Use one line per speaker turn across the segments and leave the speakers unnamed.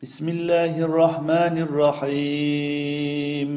بسم الله الرحمن الرحيم.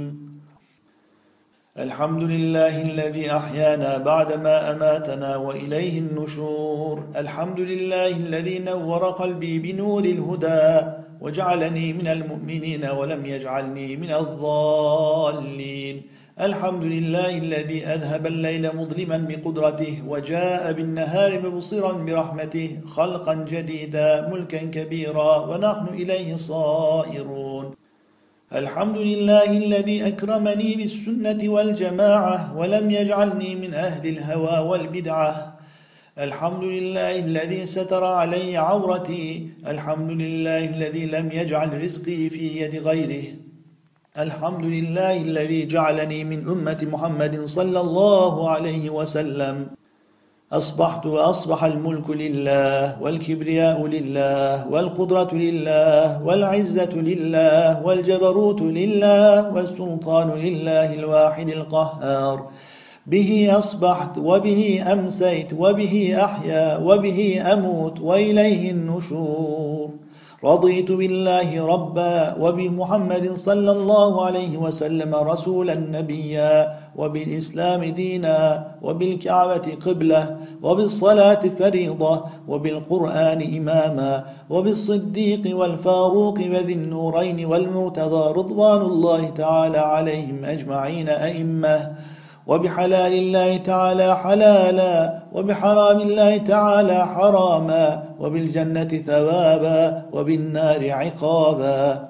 الحمد لله الذي أحيانا بعدما أماتنا وإليه النشور. الحمد لله الذي نور قلبي بنور الهدى وجعلني من المؤمنين ولم يجعلني من الضالين. الحمد لله الذي أذهب الليل مظلما بقدرته وجاء بالنهار مبصرا برحمته، خلقا جديدا ملكا كبيرا ونحن إليه صائرون. الحمد لله الذي أكرمني بالسنة والجماعة ولم يجعلني من أهل الهوى والبدعة. الحمد لله الذي ستر علي عورتي. الحمد لله الذي لم يجعل رزقي في يد غيره. الحمد لله الذي جعلني من أمة محمد صلى الله عليه وسلم. أصبحت وأصبح الملك لله والكبرياء لله والقدرة لله والعزة لله والجبروت لله والسلطان لله الواحد القهار. به أصبحت وبه أمسيت وبه أحيا وبه أموت وإليه النشور. رضيت بالله ربا وبمحمد صلى الله عليه وسلم رسولا نبيا وبالإسلام دينا وبالكعبة قبلة وبالصلاة فريضة وبالقرآن إماما وبالصديق والفاروق وذي النورين والمرتضى رضوان الله تعالى عليهم أجمعين أئمة، وبحلال الله تعالى حلالا وبحرام الله تعالى حراما وبالجنة ثوابا وبالنار عقابا.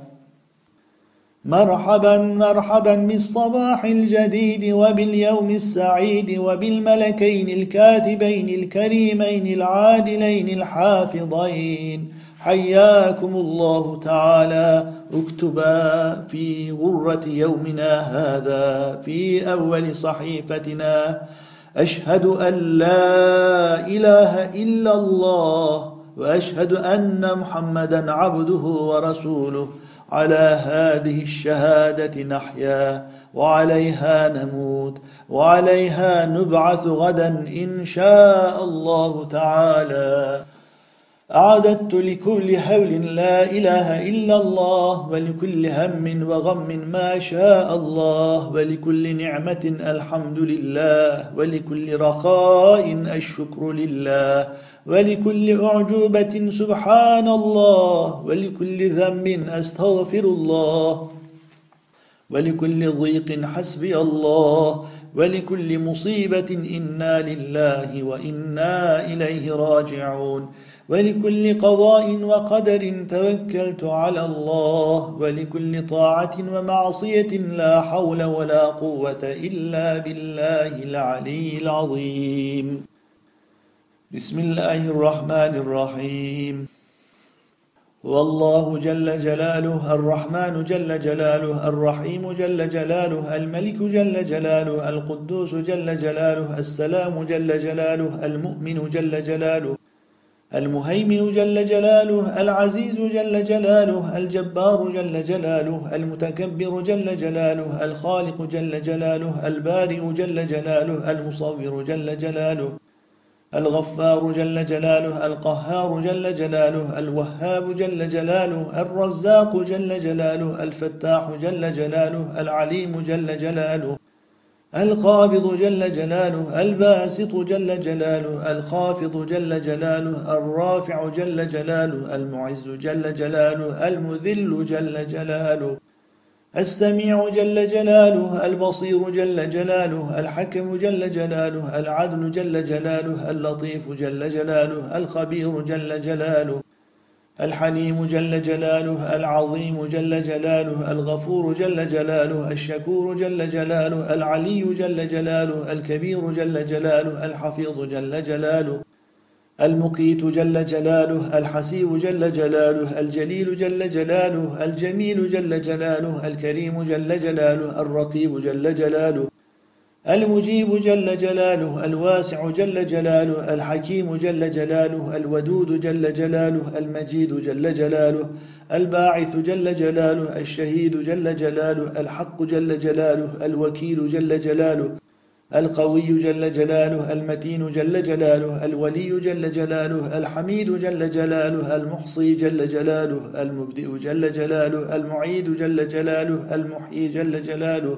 مرحبا مرحبا بالصباح الجديد وباليوم السعيد وبالملكين الكاتبين الكريمين العادلين الحافظين. حياكم الله تعالى. اكتبا في غرة يومنا هذا في أول صحيفتنا: أشهد أن لا إله إلا الله وأشهد أن محمدا عبده ورسوله. على هذه الشهادة نحيا وعليها نموت وعليها نبعث غدا إن شاء الله تعالى. أعددت لكل هول لا إله إلا الله، ولكل هم وغم ما شاء الله، ولكل نعمة الحمد لله، ولكل رخاء الشكر لله، ولكل أعجوبة سبحان الله، ولكل ذنب أستغفر الله، ولكل ضيق حسبي الله، ولكل مصيبة إنا لله وإنا إليه راجعون، ولكل قضاء وقدر توكلت على الله، ولكل طاعة ومعصية لا حول ولا قوة إلا بالله العلي العظيم. بسم الله الرحمن الرحيم. والله جل جلاله، الرحمن جل جلاله، الرحيم جل جلاله، الملك جل جلاله، القدوس جل جلاله، السلام جل جلاله، المؤمن جل جلاله، المهيمن جل جلاله، العزيز جل جلاله، الجبار جل جلاله، المتكبر جل جلاله، الخالق جل جلاله، البارئ جل جلاله، المصور جل جلاله، الغفار جل جلاله، القهار جل جلاله، الوهاب جل جلاله، الرزاق جل جلاله، الفتاح جل جلاله، العليم جل جلاله، القابض جل جلاله، الباسط جل جلاله، الخافض جل جلاله، الرافع جل جلاله، المعز جل جلاله، المذل جل جلاله، السميع جل جلاله، البصير جل جلاله، الحكم جل جلاله، العدل جل جلاله، اللطيف جل جلاله، الخبير جل جلاله، الحليم جل جلاله، العظيم جل جلاله، الغفور جل جلاله، الشكور جل جلاله، العلي جل جلاله، الكبير جل جلاله، الحفيظ جل جلاله، المقيت جل جلاله، الحسيب جل جلاله، الجليل جل جلاله، الجميل جل جلاله، الكريم جل جلاله، الرقيب جل جلاله، المجيب جل جلاله، الواسع جل جلاله، الحكيم جل جلاله، الودود جل جلاله، المجيد جل جلاله، الباعث جل جلاله، الشهيد جل جلاله، الحق جل جلاله، الوكيل جل جلاله، القوي جل جلاله، المتين جل جلاله، الولي جل جلاله، الحميد جل جلاله، المحصي جل جلاله، المبدئ جل جلاله، المعيد جل جلاله، المحيي جل جلاله،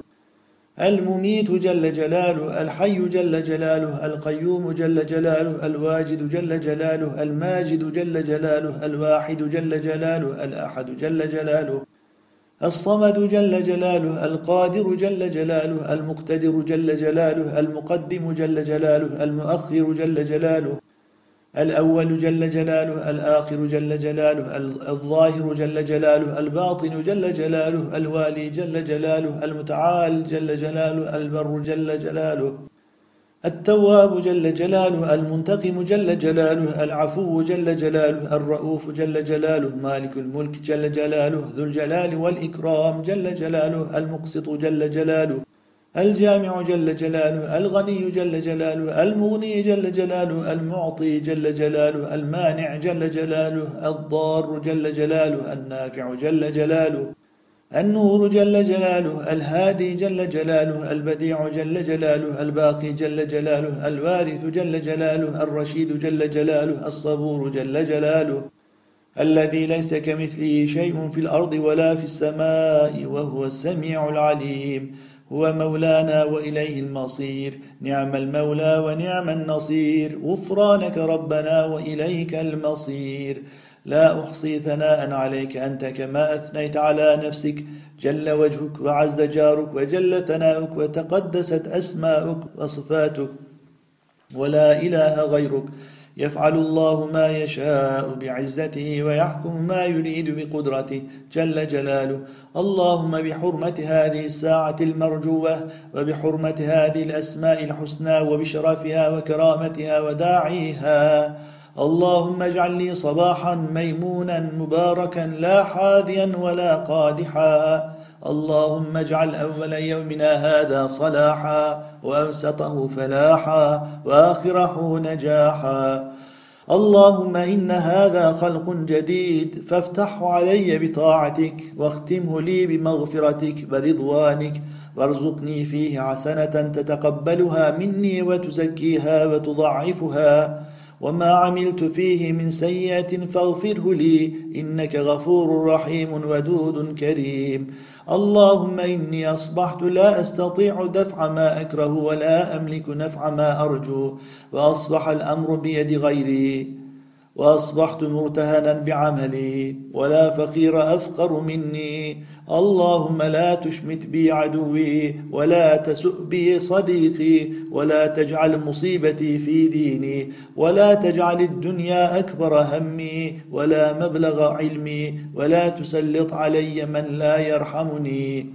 المميت جل جلاله، الحي جل جلاله، القيوم جل جلاله، الواجد جل جلاله، الماجد جل جلاله، الواحد جل جلاله، الأحد جل جلاله، الصمد جل جلاله، القادر جل جلاله، المقتدر جل جلاله، المقدم جل جلاله، المؤخر جل جلاله، الأول جل جلاله، الآخر جل جلاله، الظاهر جل جلاله، الباطن جل جلاله، الوالي جل جلاله، المتعال جل جلاله، البر جل جلاله، التواب جل جلاله، المنتقم جل جلاله، العفو جل جلاله، الرؤوف جل جلاله، مالك الملك جل جلاله، ذو الجلال والإكرام جل جلاله، المقسط جل جلاله، الجامع جل جلاله، الغني جل جلاله، المغني جل جلاله، المعطي جل جلاله، المانع جل جلاله، الضار جل جلاله، النافع جل جلاله، النور جل جلاله، الهادي جل جلاله، البديع جل جلاله، الباقي جل جلاله، الوارث جل جلاله، الرشيد جل جلاله، الصبور جل جلاله، الذي ليس كمثله شيء في الأرض ولا في السماء وهو السميع العليم. هو مولانا وإليه المصير، نعم المولى ونعم النصير، غفرانك ربنا وإليك المصير. لا أحصي ثناء عليك أنت كما أثنيت على نفسك، جل وجهك وعز جارك وجل ثناؤك وتقدست أسماؤك وصفاتك، ولا إله غيرك. يفعل الله ما يشاء بعزته ويحكم ما يريد بقدرته جل جلاله. اللهم بحرمة هذه الساعة المرجوة وبحرمة هذه الأسماء الحسنى وبشرفها وكرامتها وداعيها، اللهم اجعل لي صباحا ميمونا مباركا لا حاذيا ولا قادحا. اللهم اجعل أول يومنا هذا صلاحا وأوسطه فلاحا وآخره نجاحا. اللهم إن هذا خلق جديد فافتحه علي بطاعتك واختمه لي بمغفرتك ورضوانك، وارزقني فيه حسنة تتقبلها مني وتزكيها وتضعفها، وما عملت فيه من سيئة فاغفره لي إنك غفور رحيم ودود كريم. اللهم إني أصبحت لا أستطيع دفع ما أكره ولا أملك نفع ما أرجو، وأصبح الأمر بيد غيري، وأصبحت مرتهنا بعملي ولا فقير أفقر مني. اللهم لا تشمت بي عدوي ولا تسؤ بي صديقي، ولا تجعل مصيبتي في ديني، ولا تجعل الدنيا أكبر همي ولا مبلغ علمي، ولا تسلط علي من لا يرحمني.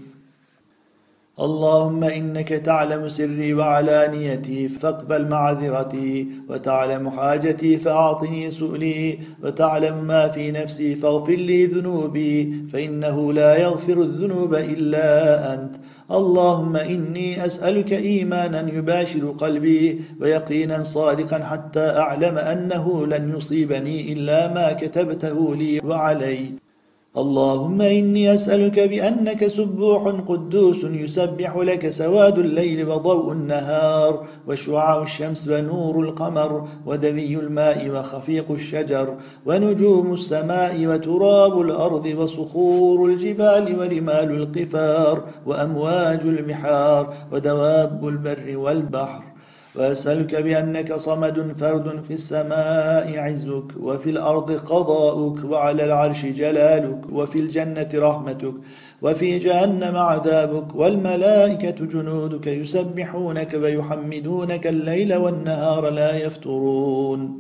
اللهم إنك تعلم سري وعلانيتي فاقبل معذرتي، وتعلم حاجتي فأعطني سؤلي، وتعلم ما في نفسي فاغفر لي ذنوبي، فإنه لا يغفر الذنوب إلا أنت. اللهم إني أسألك إيمانا يباشر قلبي ويقينا صادقا حتى أعلم أنه لن يصيبني إلا ما كتبته لي وعلي. اللهم إني أسألك بأنك سبوح قدوس يسبح لك سواد الليل وضوء النهار وشعاع الشمس ونور القمر ودمي الماء وخفيق الشجر ونجوم السماء وتراب الأرض وصخور الجبال ورمال القفار وأمواج البحار ودواب البر والبحر. وأسألك بأنك صمد فرد في السماء عزك وفي الأرض قضاؤك وعلى العرش جلالك وفي الجنة رحمتك وفي جهنم عذابك والملائكة جنودك يسبحونك ويحمدونك الليل والنهار لا يفترون.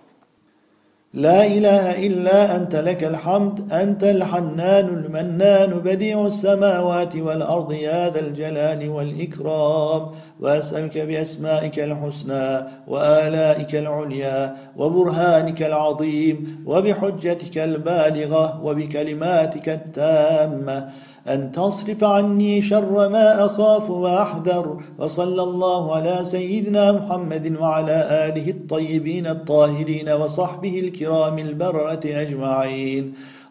لا إله إلا أنت لك الحمد، أنت الحنان المنان بديع السماوات والأرض يا ذا الجلال والإكرام. وأسألك بأسمائك الحسنى وآلائك العليا وبرهانك العظيم وبحجتك البالغة وبكلماتك التامة أن تصرف عني شر ما أخاف وأحذر. وصلى الله على سيدنا محمد وعلى آله الطيبين الطاهرين وصحبه الكرام البررة أجمعين.